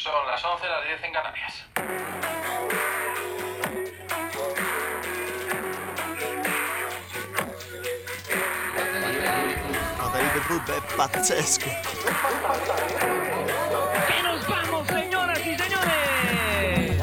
Son las 11, las 10 en Canarias. Matarible Football è pazzesco. ¡Y nos vamos, señoras y señores!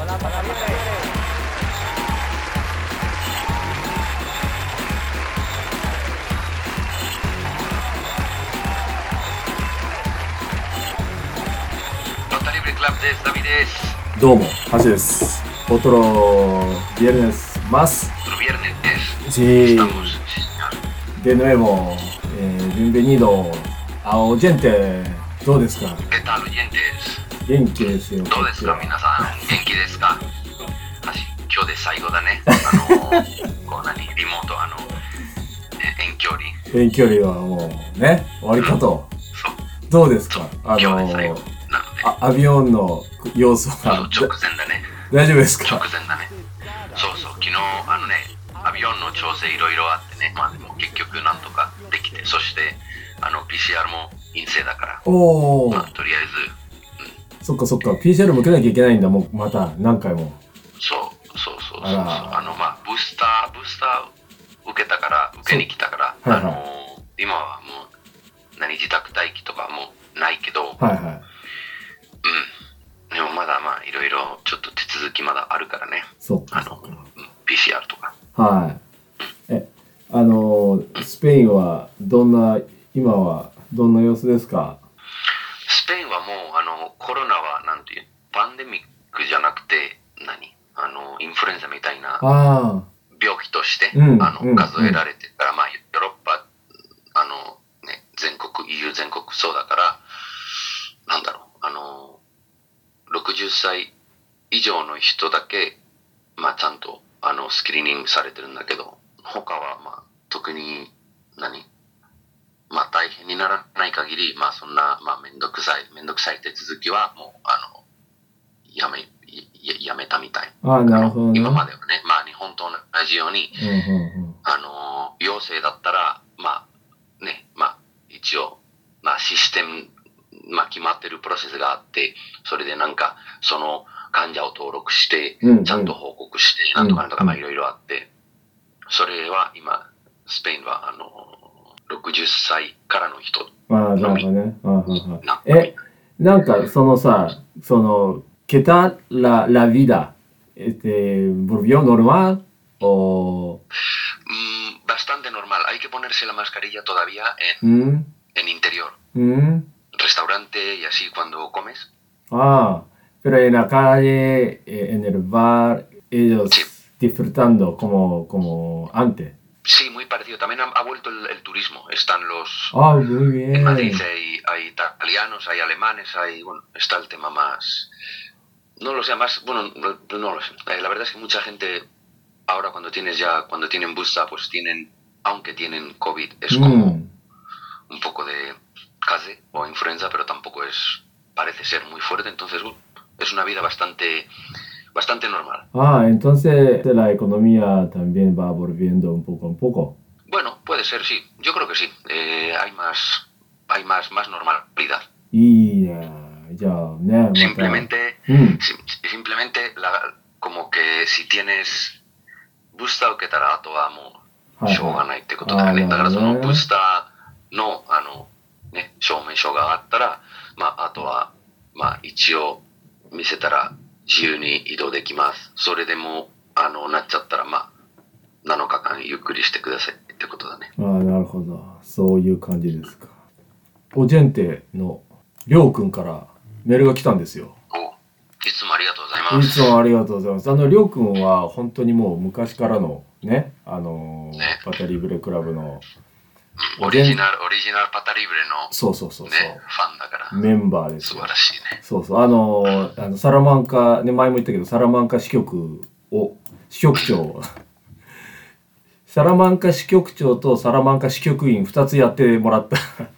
Matarible Club de David es. どうも、ハジです。Otro viernes más. Otro viernes es. Sí, Estamos, sí, señor. de nuevo, bienvenido a oyente. どうですか? ¿Qué tal, oyentes? 元気ですよ。 どうですか、皆さん。元気ですか？今日で最後だね。こうリモート、遠距離。 遠距離はもうね、終わりかと。 そう。 どうですか？ 今日で最後なので。 アビオンの要素そうが直前だね。 大丈夫ですか？ 直前だね。そうそう、昨日アビオンの調整いろいろあってね、まあでも結局なんとかできて、そしてPCR も陰性だから、 おー、 まあとりあえず、 そっかそっか、PCR も受けなきゃいけないんだ、もうまた何回も。 そうあらまあブースター受けたから受けに来たから、 はいは今はもう自宅待機とかもないけど、 はいはい。 でもまだまあいろいろちょっと手続きまだあるからね。 そっかそっか。 PCR とか。 はい。スペインは今はどんな様子ですか？ スペインはもうコロナはなんていうパンデミックじゃなくてインフルエンザみたいなあ病気としてうん数えられてるから、まあヨーロッパ全国 EU 全国そうだからなんだろう60歳以上の人だけまあちゃんとスクリーニングされてるんだけど他はまあ特にまあ大変にならない限りまあそんなまあめんどくさい手続きはもうやめたみたい。 あ、なるほどね。 今まではね、まあ日本と同じように、陽性だったら、まあね、まあ一応、まあシステム、まあ決まってるプロセスがあって、それでなんか、その患者を登録して、ちゃんと報告して、なんとかなんとか、まあいろいろあって、それは今、スペインは、60歳からの人のみ。 なんかそのさ、¿qué tal la vida? ¿Volvió normal o...? Bastante normal. Hay que ponerse la mascarilla todavía en interior. Restaurante y así cuando comes. Ah, pero en la calle, en el bar, ellos sí. Disfrutando como antes. Sí, muy parecido. También ha vuelto el turismo. Están los... muy bien. En Madrid hay italianos, hay alemanes, bueno, está el tema más... No lo sé, más... Bueno, no lo sé. La verdad es que mucha gente ahora cuando tienen busta, pues aunque tienen COVID, es como un poco de case o influenza, pero tampoco parece ser muy fuerte. Entonces, es una vida bastante normal. Entonces la economía también va volviendo un poco a poco. Bueno, puede ser, sí. Yo creo que sí. Hay más normalidad. Y ya, simplemente como que si tienes busta受けたらあとはもうしょうがないってことだよね。だからそのブースターの証明書があったら、まああとはまあ一応見せたら自由に移動できます。それでもなっちゃったらまあ7日間ゆっくりしてくださいってことだね。 なるほど。そういう感じですか。オジェンテのりょうくんからメールが来たんですよ。 いつもありがとうございます。 いつもありがとうございます。りょうくんは本当にもう昔からのね、パタリブレクラブのオリジナルパタリブレのそう、 ファンだからメンバーですよ。 素晴らしいね。 そうサラマンカね、前も言ったけどサラマンカ支局長サラマンカ支局長とサラマンカ支局員2つやってもらったね、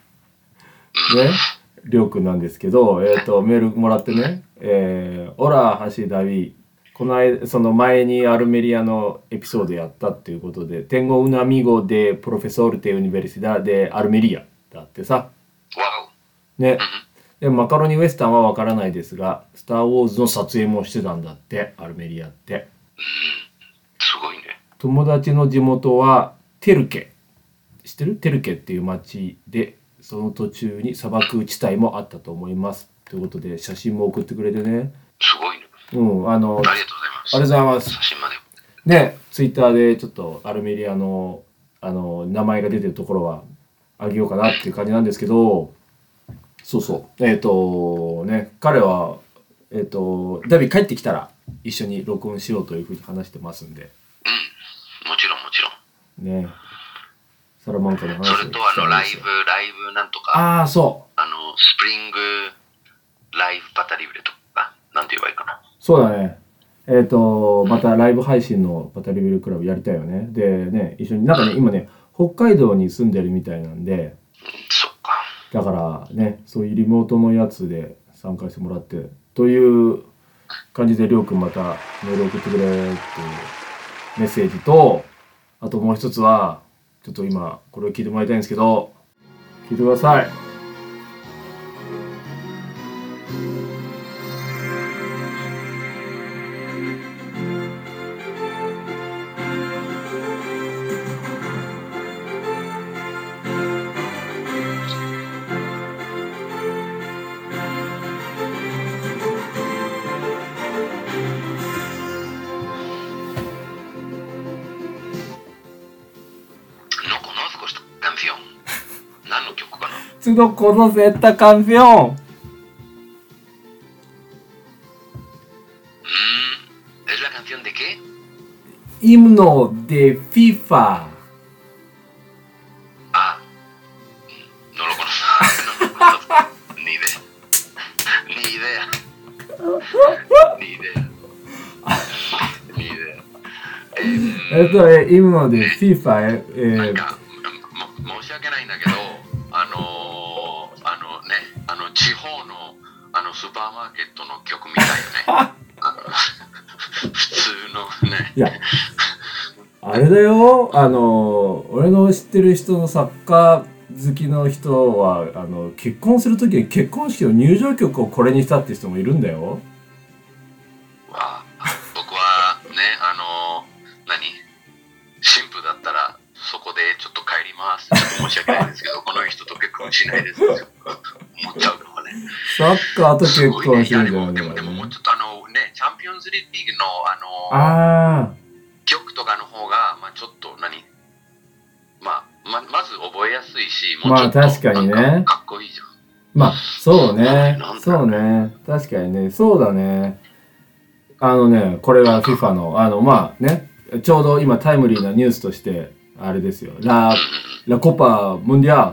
りょうくんなんですけど、メールもらってね、オラ橋ダビこの間その前にアルメリアのエピソードやったっていうことで、Tengo un amigo de profesor de Universidad de Almeríaだってさ、ね、 でマカロニウエスタンはわからないですが、スター・ウォーズの撮影もしてたんだって、アルメリアって。 すごいね。 友達の地元はテルケ。知ってる？テルケっていう町で、その途中に砂漠地帯もあったと思います。ということで、写真も送ってくれてね。 すごいね。 うん、 ありがとうございます。 ありがとうございます。 写真まで。 ね、ツイッターでちょっとアルメリアの名前が出てるところはあげようかなっていう感じなんですけど、そうそう。ね、彼はダビ帰ってきたら一緒に録音しようというふうに話してますんで。 もちろんもちろん。 ね。サラマンカの話をそれとライブなんとか。 ああ、そう。 スプリングライブパタリブレとか、なんて言えばいいかな。 そうだね。またライブ配信のパタリベルクラブやりたいよね。でね、一緒に、なんかね、今ね、北海道に住んでるみたいなんで、 そっか。 だからね、そういうリモートのやつで参加してもらって、という感じで、りょうくんまたメール送ってくれっていうメッセージと、あともう一つは、ちょっと今、これを聞いてもらいたいんですけど、聞いてください。No conoce esta canción. ¿Es la canción de qué? Himno de FIFA. Ah, no lo conozco. No lo conozco. Ni idea. Ni idea. Ni idea. Ni idea. Esto es himno de FIFA. なんか申し訳ないんだけど、地方のスーパーマーケットの曲みたいよね。普通のね。 いや、あれだよ。俺の知ってる人のサッカー好きの人は結婚するときに結婚式の入場曲をこれにしたって人もいるんだよ。 僕はね、新婦だったらそこでちょっと帰ります。ちょっと申し訳ないんですけど、この人と結婚しないです。思っちゃうかもね。 サッカーと結婚しないんだよね。 でももうちょっとね、チャンピオンズリーグの曲とかの方が、ちょっとまず覚えやすいし、もうちょっと確かにね。 かっこいいじゃん。 そうね。そうね。確かにね。そうだね。これが FIFA の、ちょうど今タイムリーなニュースとして、あれですよ。La Copa Mundial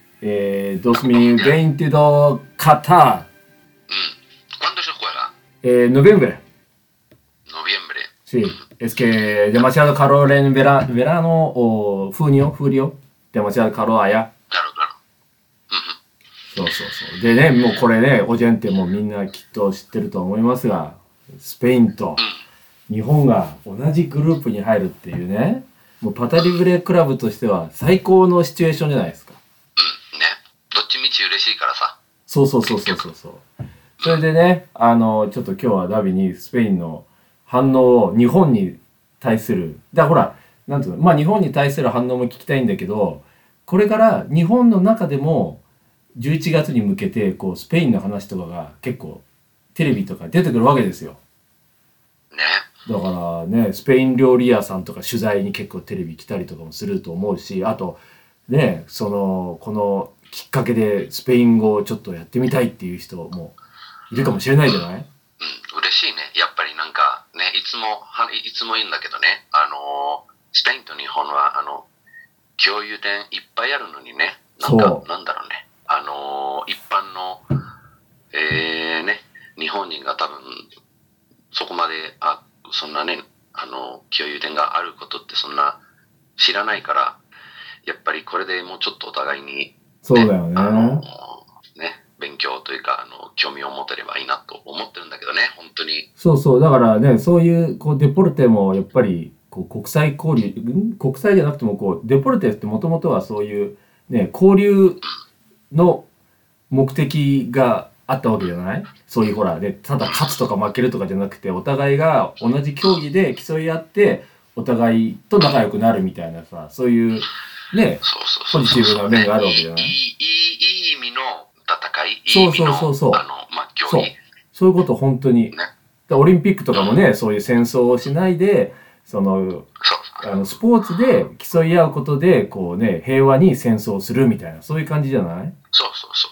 2022 Qatar. ¿Cuándo se juega? Noviembre. Noviembre. Sí. Es que demasiado calor en verano o junio. Demasiado calor allá. Claro, claro. そうそうそう。でね、もうこれね、オジェンテもみんなきっと知ってると思いますが、スペインと日本が同じグループに入るっていうね、もうパタリブレクラブとしては最高のシチュエーションじゃないですか。 ね。どっちみち嬉しいからさ。 そう。それでね、ちょっと今日はダビにスペインの反応を日本に対する、ほら、なんていうの、日本に対する反応も聞きたいんだけど、これから日本の中でも11月に向けてこうスペインの話とかが結構テレビとか出てくるわけですよ。 ね。 だからね、スペイン料理屋さんとか取材に結構テレビ来たりとかもすると思うし、あとね、このきっかけでスペイン語をちょっとやってみたいっていう人もいるかもしれないじゃない？ 嬉しいね。やっぱりなんかね、いつも言うんだけどね、スペインと日本は共有点いっぱいあるのにね、なんだろうね、一般の日本人が多分そこまでそんなね、共有点があることってそんな知らないから、やっぱりこれでもうちょっとお互いに、ね、 そうだよね。 勉強というか興味を持てればいいなと思ってるんだけどね、本当に。 そうだからね、そういうデポルテもやっぱり国際交流、国際じゃなくてもデポルテってもともとはそういうね交流の目的があったわけじゃない？そういうほらね、ただ勝つとか負けるとかじゃなくて、お互いが同じ競技で競い合ってお互いと仲良くなるみたいなさ、そういうね、ポジティブな面があるわけじゃない？ いい意味の戦い、いいそう意味の競そう技。 そういうこと本当に。 ね。 オリンピックとかもね、そういう戦争をしないで、そのスポーツで競い合うことでこうね、平和に戦争をするみたいな、そういう感じじゃない？ そう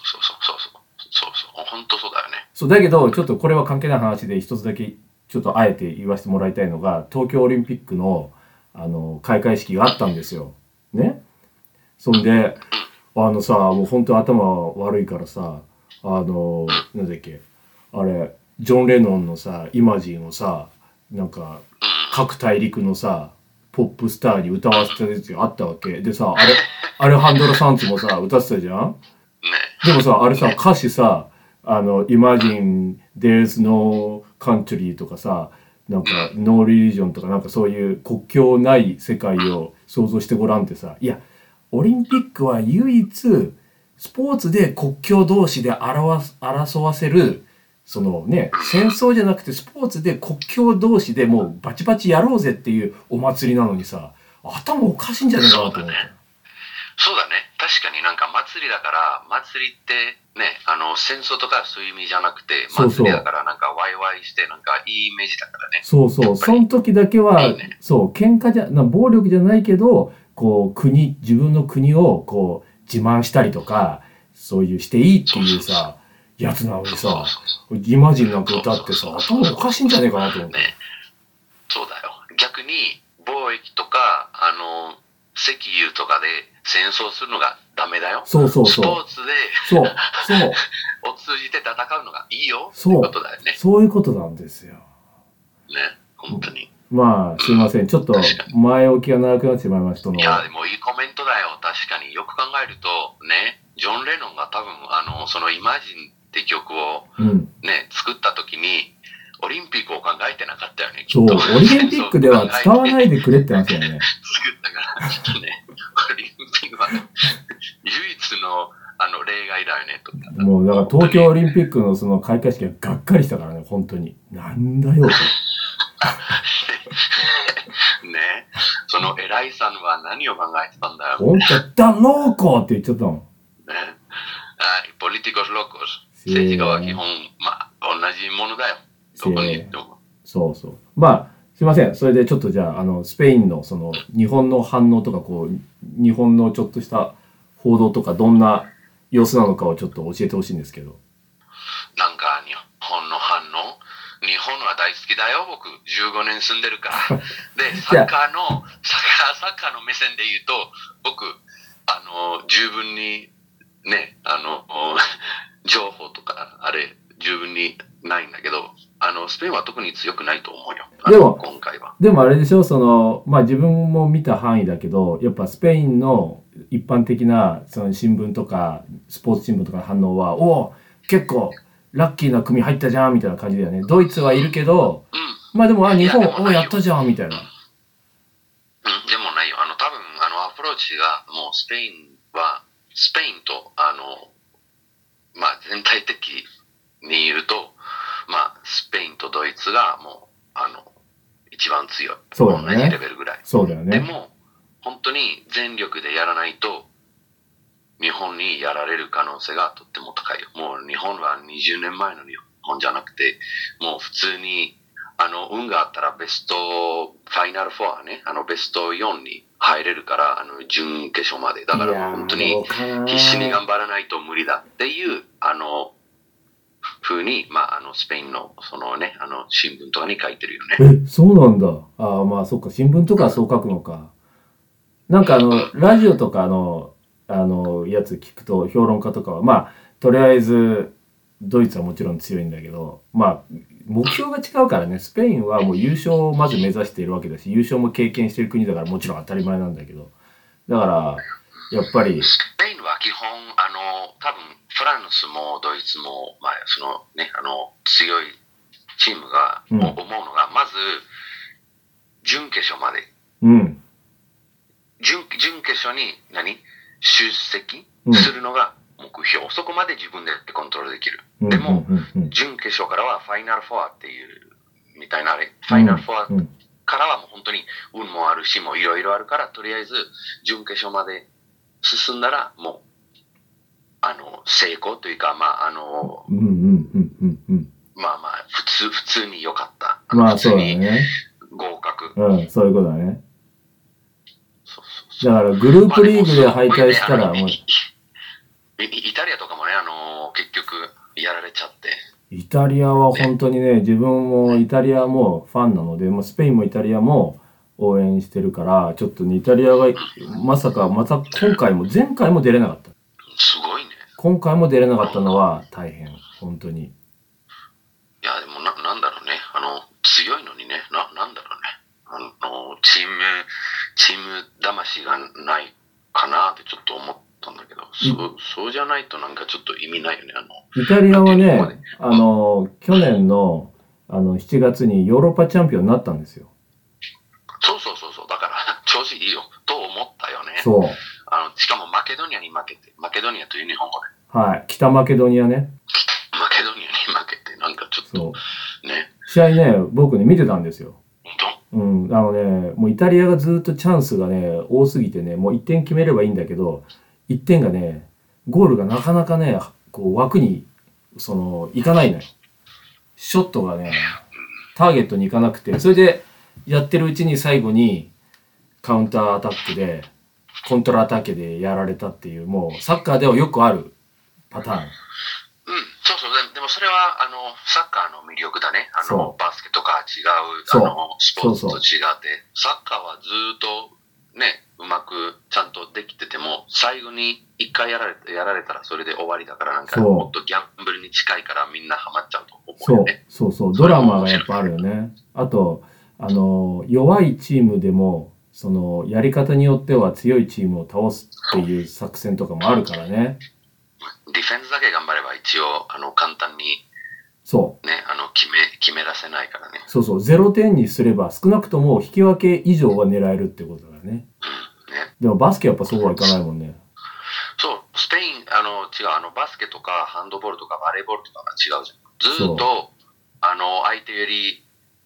本当そうだよね。 そうだけど、ちょっとこれは関係ない話で一つだけちょっとあえて言わせてもらいたいのが、東京オリンピックの開会式があったんですよ。ね。そんでさ、もう本当頭悪いからさ、なんだっけ、あれジョン・レノンのさ、イマジンをさ、なんか各大陸のさポップスターに歌わせたやつがあったわけでさ、あれハンドラ・サンツもさ歌ってたじゃん。でもさ、あれさ、歌詞さ、Imagine there's no country とかさ、なんか no religion とか、なんかそういう国境ない世界を想像してごらんってさ、いやオリンピックは唯一スポーツで国境同士で争わせる、そのね、戦争じゃなくてスポーツで国境同士でもうバチバチやろうぜっていうお祭りなのにさ、頭おかしいんじゃないかなと思って。 そうだね。確かになんか祭りだから、祭りってね、戦争とかそういう意味じゃなくて、祭りだからなんかワイワイしてなんかいいイメージだからね。 そうそう、その時だけは、そう、喧嘩暴力じゃないけど、こう自分の国をこう自慢したりとか、そういうしていいっていうさ、やつなのにさ、イマジンなんか歌ってさ、頭おかしいんじゃねえかなと思って。 そうだよ。逆に貿易とか石油とかで戦争するのがダメだよ。 そうスポーツでを通じて戦うのがいいよっていうことだよね。 そういうことなんですよ。ね、 本当に。 まあすいません、ちょっと前置きが長くなってしまいましたの。 いやでもいいコメントだよ。確かによく考えるとね、ジョン・レノンが多分そのイマジンって曲をね、作った時にオリンピックを考えてなかったよね。 そう、オリンピックでは使わないでくれって話だよね。 作ったからちょっとね、オリンピックは唯一の例外だよねとか。 もうだから東京オリンピックのその開会式はがっかりしたからね、本当に。なんだよと。 ね、その偉いさんは何を考えてたんだよ。 本当だローコって言っちゃったもん。 ね、ポリティコスローコス。政治家は基本同じものだよ。どこに行っても。そうそう。まあすいません。それでちょっとじゃあスペインのその日本の反応とか、こう日本のちょっとした報道とかどんな様子なのかをちょっと教えてほしいんですけど。 なんか日本の反応、日本は大好きだよ。僕15年住んでるから。でサッカーの目線で言うと、僕十分にね、情報とかあれ十分にないんだけど、スペインは特に強くないと思うよ。 でも今回は。 でもあれでしょ、そのまあ自分も見た範囲だけど、やっぱスペインの一般的なその新聞とかスポーツ新聞とかの反応は、おお結構ラッキーな組入ったじゃんみたいな感じだよね。ドイツはいるけど、まあでも日本おやったじゃんみたいな。 でもないよ。多分アプローチがもうスペインとまあ全体的に言うと、まあスペインとドイツがもう一番強い。 そうだね。 同じレベルぐらい。 そうだよね。 でも本当に全力でやらないと日本にやられる可能性がとっても高いよ。もう日本は20年前の日本じゃなくて、もう普通に運があったらベストファイナル4ね、ベスト4に入れるから、準決勝まで。だから本当に必死に頑張らないと無理だっていう風に、まあスペインのそのね、新聞とかに書いてるよね。 そうなんだ。ああ、まあそっか、新聞とかはそう書くのか。なんかラジオとかやつ聞くと、評論家とかはまあとりあえずドイツはもちろん強いんだけど、まあ目標が違うからね。スペインはもう優勝をまず目指しているわけだし、優勝も経験している国だからもちろん当たり前なんだけど、だからやっぱりスペインは基本多分フランスもドイツも、まあそのね、強いチームが思うのが、まず準決勝まで、準決勝に出席するのが目標、そこまで自分でコントロールできる。 うんでも、 うんうん準決勝からはファイナルフォアっていうみたいなあれ、ファイナルフォアうんからはもう本当に運もあるし、もういろいろあるから、とりあえず準決勝まで進んだら、もう、成功というか、 うんうんうんうんうん普通に良かった。 まあそうだ普通にね。 合格。 うん、そういうことだね。 そうそうそうだからグループリーグで敗退したらもう、 イタリアとかもね、結局やられちゃって。 イタリアは本当にね、自分もイタリアもファンなので、もうスペインもイタリアも応援してるから、ちょっとね、イタリアがまさか、また今回も、前回も出れなかった。 すごいね。 今回も出れなかったのは大変、本当に。 いや、でもなんだろうね。強いのにね、なんだろうね。チーム魂がないかなってちょっと思ったんだけど、そうじゃないとなんかちょっと意味ないよね。 イタリアはね、去年の7月にヨーロッパチャンピオンになったんですよ。 そう。だから、調子いいよ、と思ったよね。 そう。 しかもマケドニアに負けて、マケドニアという日本語で。 はい。北マケドニアね。 マケドニアに負けて、なんかちょっと、ね。 試合ね、僕ね、見てたんですよ。 本もうイタリアがずっとチャンスがね、多すぎてね、もう1点決めればいいんだけど、1点がね、ゴールがなかなかね、こう枠に、いかないのよ。ショットがね、ターゲットにいかなくて、それでやってるうちに最後にカウンターアタックで、コントラアタックでやられたっていう、もうサッカーではよくあるパターン。 そう。でもそれは、サッカーの魅力だね。 そうバスケとか違う、 そうスポーツと違って、サッカーはずっと、ね、うまくちゃんとできてても、最後に一回やられたらそれで終わりだから、なんかそうもっとギャンブルに近いからみんなハマっちゃうと思うよね。 そう。ドラマがやっぱあるよね。あと、弱いチームでも、やり方によっては強いチームを倒すっていう作戦とかもあるからね。 ディフェンスだけ頑張れば一応、簡単にそう。 ね、決めらせないからね。 そう。0点にすれば少なくとも引き分け以上は狙えるってことだね。 ね。 でもバスケやっぱそうはいかないもんね。 そう、スペイン、違う、バスケとかハンドボールとかバレーボールとかが違うじゃん。ずっと、相手より、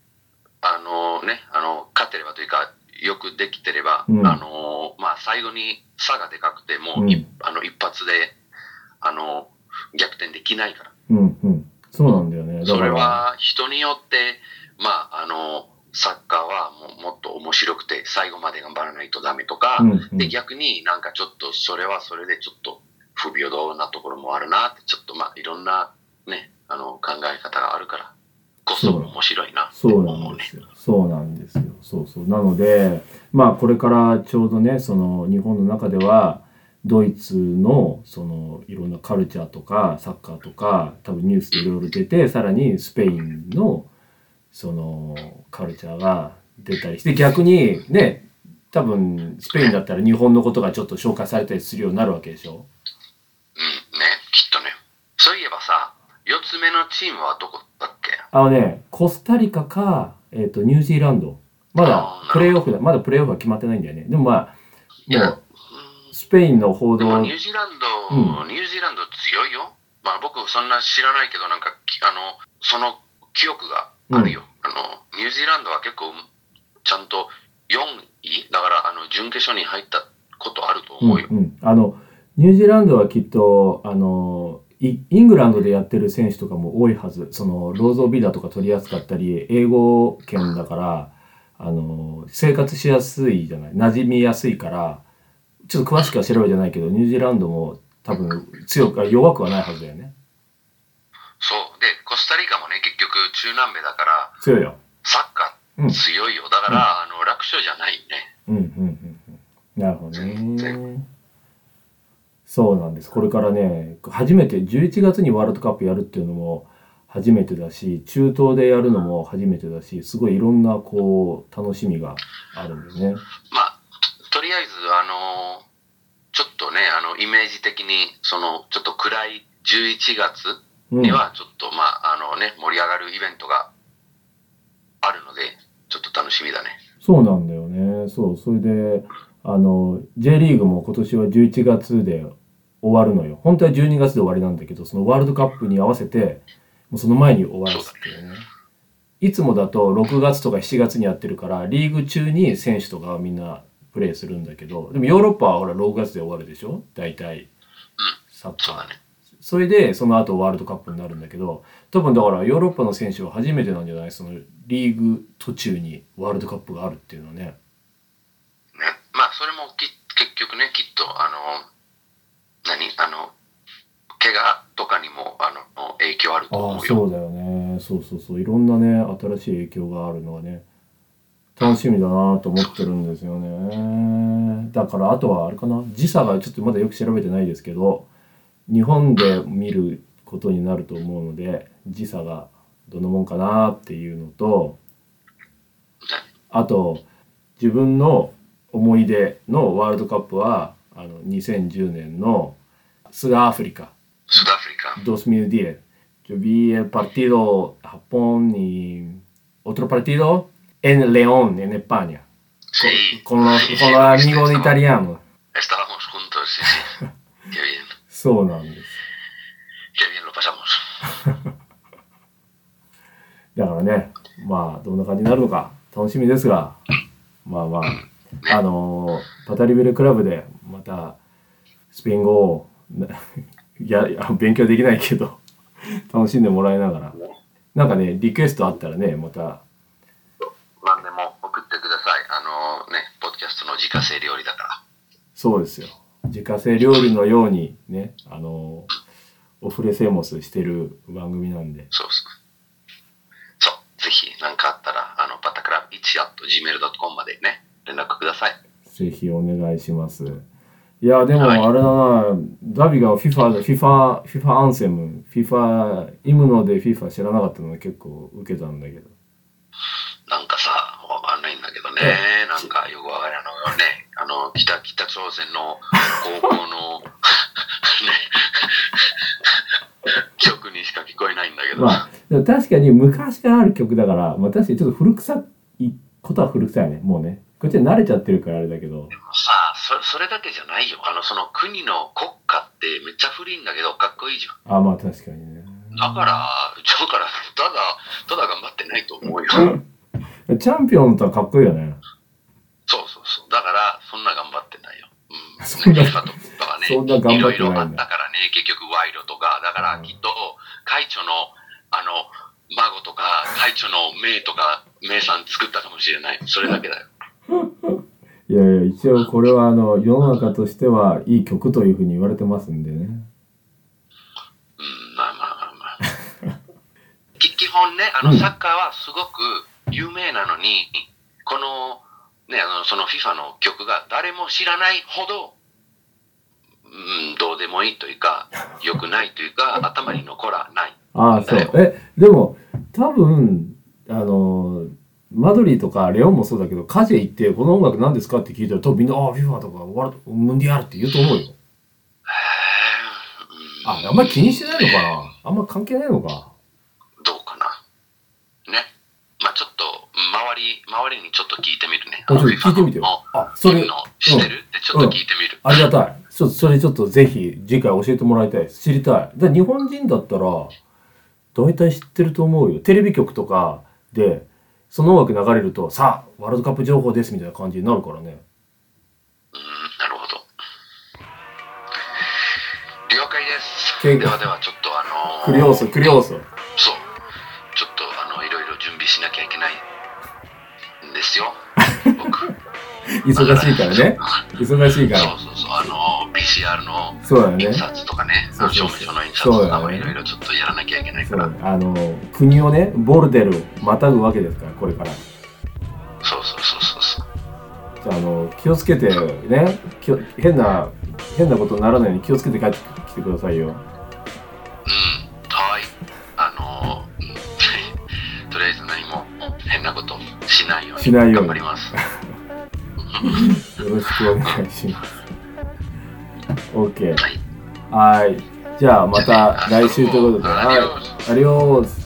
勝てればというか、よくできてれば、最後に差がでかくて、もう、一発で、逆転できないから。 そうなんだよね。だからそれは人によって、サッカーはもっと面白くて、最後まで頑張らないとダメとか、で、逆になんかちょっと、それはそれでちょっと不平等なところもあるなって、ちょっといろんなね、考え方があるからこそ面白いなってそう思うね。 そうなんですよ。そう。なので、これからちょうどね、日本の中では、ドイツのいろんなカルチャーとかサッカーとか多分ニュースでいろいろ出て、さらにスペインのカルチャーが出たりして、逆にね、多分スペインだったら日本のことがちょっと紹介されたりするようになるわけでしょ。 ね、きっとね。そういえばさ、4つ目のチームはどこだっけ？ コスタリカか、ニュージーランド。まだプレーオフは決まってないんだよね。でももうスペインの報道。 でもニュージーランド強いよ。僕そんな知らないけど、なんかその記憶があるよ。ニュージーランドは結構ちゃんと4位だから準決勝に入ったことあると思うよ。 ニュージーランドはきっとイングランドでやってる選手とかも多いはず。ローゾービザとか取りやすかったり、英語圏だから生活しやすいじゃない、馴染みやすいから。ちょっと詳しくは調べてないけど、ニュージーランドも多分弱くはないはずだよね。 そう。で、コスタリカもね、結局中南米だから、 強いよ。 サッカー強いよ。だから、楽勝じゃないね。 なるほどね。そうなんです。これからね、初めて11月にワールドカップやるっていうのも初めてだし、中東でやるのも初めてだし、すごいいろんな楽しみがあるんでね。 とりあえず、ちょっとね、イメージ的に、ちょっと暗い11月には、ちょっと、盛り上がるイベントがあるので、ちょっと楽しみだね。 そうなんだよね。それで、J リーグも今年は11月で終わるのよ。本当は12月で終わりなんだけど、そのワールドカップに合わせてもうその前に終わらすっていうね。いつもだと6月とか7月にやってるからリーグ中に選手とかはみんなプレーするんだけど、でもヨーロッパはほら6月で終わるでしょ大体サッカー。 そうだね。 それでその後ワールドカップになるんだけど、多分だからヨーロッパの選手は初めてなんじゃない、そのリーグ途中にワールドカップがあるっていうのはね。 ね、まあそれも結局ね、きっと怪我とかにも影響あると思うよ。 そうだよね。そうそうそう、いろんなね新しい影響があるのはね楽しみだなと思ってるんですよね。だからあとはあれかな、時差がちょっとまだよく調べてないですけど、日本で見ることになると思うので時差がどんなもんかなっていうのと、あと自分の思い出のワールドカップは2010年のスダアフリカ Sudáfrica. 2010. Yo vi el partido Japón y otro partido en León, en España, Sí. con los Sí, amigos italianos. Estábamos juntos, sí, sí. Qué bien. そうなんです。 Qué bien lo pasamos. だからね、まあどんな感じになるのか楽しみですが、まあまあパタリベルクラブでまたスペイン語をいや勉強できないけど楽しんでもらいながら、なんかねリクエストあったらねまた何でも送ってください。ポッドキャストの自家製料理だから。 そうですよ、自家製料理のようにねオフレセモスしてる番組なんで、 そう、ぜひ何かあったらパタクラブ1@gmail.com までね連絡ください。 ぜひお願いします。いやでもはいあれだな、ダビが FIFA アンセム FIFA イムノで FIFA 知らなかったのが結構受けたんだけど、 なんかさ、わかんないんだけどね、なんかよくわからないのよね。北朝鮮の高校のね曲にしか聞こえないんだけど。 まあでも確かに昔からある曲だから、まあ確かにちょっと古臭いことは古臭いね、もうねこっちは慣れちゃってるからあれだけど。 でもさ、それだけじゃないよ。その国の国歌ってめっちゃ古いんだけどかっこいいじゃん。 まあ確かにね。 だからただ頑張ってないと思うよ。 チャンピオンとはかっこいいよね。 そう。だからそんな頑張ってないよ。 そんな FIFA とかね、 そんな頑張ってないんだいろいろあったからね、結局賄賂とか、だからきっと会長の孫とか会長の妹とか妹さん作ったかもしれない。それだけだよ。 いやいや、一応これは世の中としてはいい曲というふうに言われてますんでね。 まあ。基本ね、サッカーはすごく有名なのに、このね、その FIFA の曲が誰も知らないほど、どうでもいいというか、良くないというか、頭に残らない。 そう。でも多分マドリーとかレオンもそうだけど、カジェ行ってこの音楽何ですかって聞いたら多分みんなFIFA とかムンディアルって言うと思うよ。あんまり気にしてないのかな、あんま関係ないのか。 どうかな。ね。まあちょっと周りにちょっと聞いてみるね。 聞いてみてよ。それ知ってるってちょっと聞いてみる。 ありがたい。それちょっとぜひ次回教えてもらいたいです。知りたい。日本人だったら大体知ってると思うよ。テレビ局とかでその音楽流れると、さあワールドカップ情報ですみたいな感じになるからね。 なるほど。了解です。ではちょっとクリオーソ。 そう。ちょっといろいろ準備しなきゃいけないんですよ。僕。 忙しいからね。忙しいから。 そう。PCR のそうだよね。 印刷とかね。証明書の印刷とかもいろいろちょっとやらなきゃいけないから。 国をね、ボルデルまたぐわけですから、これから。 そう。 気をつけてね、変なことにならないように気をつけて帰ってきてくださいよ。 はい。とりあえず何も変なことしないように頑張ります。 よろしくお願いします。OK。はい。じゃあまた来週ということで、はい。アディオス。